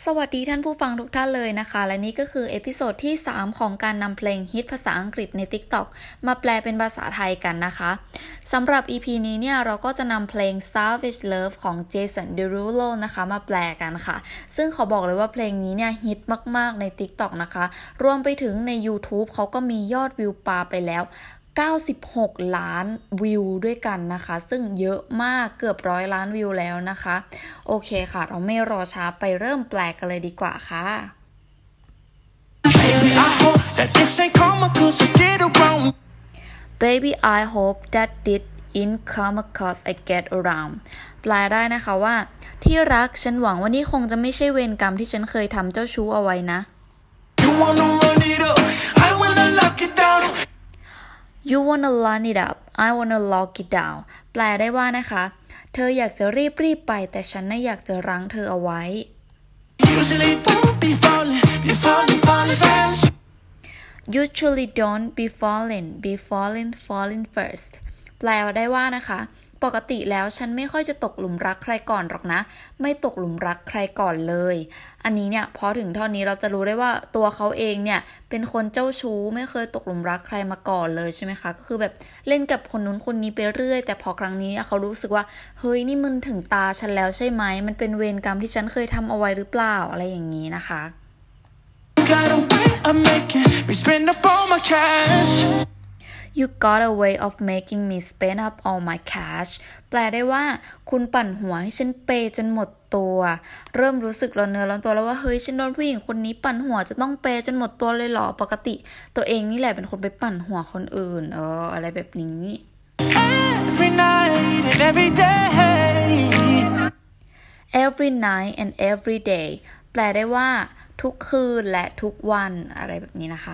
สวัสดีท่านผู้ฟังทุกท่านเลยนะคะและนี่ก็คือเอพิโซดที่3ของการนำเพลงฮิตภาษาอังกฤษใน TikTok มาแปลเป็นภาษาไทยกันนะคะสำหรับ EP นี้เนี่ยเราก็จะนำเพลง Savage Love ของ Jason Derulo นะคะมาแปลกันค่ะซึ่งขอบอกเลยว่าเพลงนี้เนี่ยฮิตมากๆใน TikTok นะคะรวมไปถึงใน YouTube เขาก็มียอดวิวปาไปแล้ว96 ล้านวิวด้วยกันนะคะซึ่งเยอะมากเกือบ100 ล้านวิวแล้วนะคะโอเคค่ะเราไม่รอช้าไปเริ่มแปลกันเลยดีกว่าค่ะ Baby I hope that this ain't come cause I get around แปลได้นะคะว่าที่รักฉันหวังว่านี่คงจะไม่ใช่เวรกรรมที่ฉันเคยทำเจ้าชู้เอาไว้นะYou wanna run it up, I wanna lock it down แปลได้ว่านะคะเธออยากจะรีบไปแต่ฉันน่ะอยากจะรั้งเธอเอาไว้ Usually don't be falling first แปลได้ว่านะคะปกติแล้วฉันไม่ค่อยจะตกหลุมรักใครก่อนหรอกนะไม่ตกหลุมรักใครก่อนเลยอันนี้เนี่ยพอถึงเท่านี้เราจะรู้ได้ว่าตัวเขาเองเนี่ยเป็นคนเจ้าชู้ไม่เคยตกหลุมรักใครมาก่อนเลยใช่ไหมคะก็คือแบบเล่นกับคนนู้นคนนี้ไปเรื่อยแต่พอครั้งนี้เขารู้สึกว่าเฮ้ยนี่มันถึงตาฉันแล้วใช่ไหมมันเป็นเวรกรรมที่ฉันเคยทำเอาไว้หรือเปล่าอะไรอย่างนี้นะคะYou got a way of making me spend up all my cash แปลได้ว่าคุณปั่นหัวให้ฉันเปย์จนหมดตัวเริ่มรู้สึกร้อนเนื้อร้อนตัวแล้วว่าเฮ้ยฉันโดนผู้หญิงคนนี้ปั่นหัวจะต้องเปย์จนหมดตัวเลยเหรอปกติตัวเองนี่แหละเป็นคนไปปั่นหัวคนอื่นอะไรแบบนี้ Every night and every day Every night and every day แปลได้ว่าทุกคืนและทุกวันอะไรแบบนี้นะคะ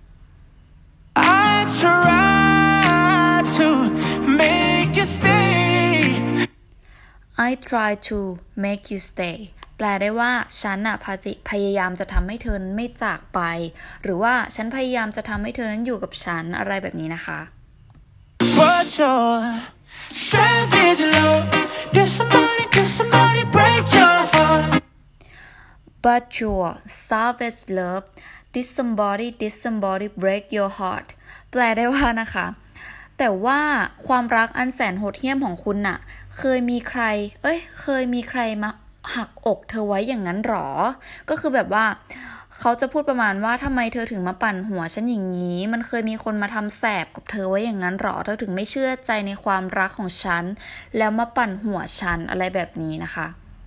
I try to make you stay I try to make you stay แปลได้ว่าฉันน่ะพยายามจะทำให้เธอไม่จากไปหรือว่าฉันพยายามจะทำให้เธอนั้นอยู่กับฉันอะไรแบบนี้นะคะ But your savage love did somebody break your heart But your savage love did somebody break your heart แปลได้ว่านะคะแต่ว่าความรักอันแสนโหดเหี้ยมของคุณน่ะเคยมีใครมาหักอกเธอไว้อย่างนั้นหรอก็คือแบบว่าเขาจะพูดประมาณว่าทำไมเธอถึงมาปั่นหัวฉันอย่างนี้มันเคยมีคนมาทำแสบกับเธอไว้อย่างนั้นหรอเธอถึงไม่เชื่อใจในความรักของฉันแล้วมาปั่นหัวฉันอะไรแบบนี้นะคะ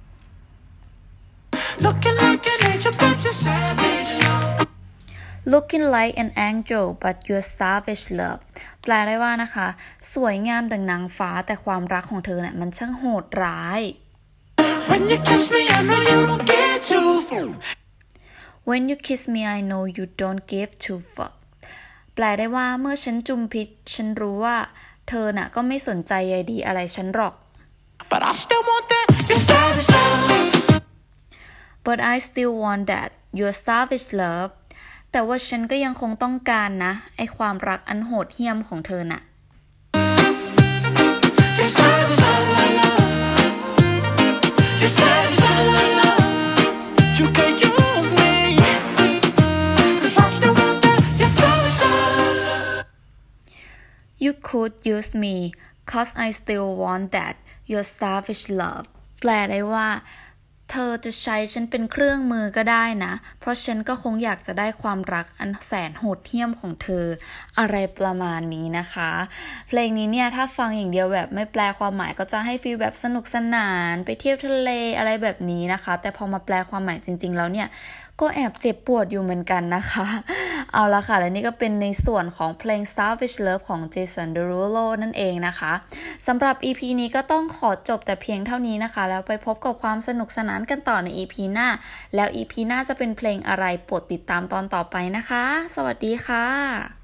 Looking like an angel but you're savage love แปลได้ว่านะคะสวยงามดังนางฟ้าแต่ความรักของเธอเนี่ยมันช่างโหดร้าย When you kiss me I know you don't give two fuck แปลได้ว่าเมื่อฉันจุมพิษฉันรู้ว่าเธอน่ะก็ไม่สนใจใยดีอะไรฉันหรอก But I still want that your savage loveแต่ว่าฉันก็ยังคงต้องการนะไอความรักอันโหดเหี้ยมของเธอน่ะ You could use me cause I still want that your savage love แปลได้ว่าเธอจะใช้ฉันเป็นเครื่องมือก็ได้นะเพราะฉันก็คงอยากจะได้ความรักอันแสนโหดเหี้ยมของเธออะไรประมาณนี้นะคะเพลงนี้เนี่ยถ้าฟังอย่างเดียวแบบไม่แปลความหมายก็จะให้ฟีลแบบสนุกสนานไปเที่ยวทะเลอะไรแบบนี้นะคะแต่พอมาแปลความหมายจริงๆแล้วเนี่ยก็แอบเจ็บปวดอยู่เหมือนกันนะคะเอาละค่ะและนี่ก็เป็นในส่วนของเพลง Savage Love ของ Jason Derulo นั่นเองนะคะสำหรับ EP นี้ก็ต้องขอจบแต่เพียงเท่านี้นะคะแล้วไปพบกับความสนุกสนานกันต่อใน EP หน้าแล้ว EP หน้าจะเป็นเพลงอะไรโปรดติดตามตอนต่อไปนะคะสวัสดีค่ะ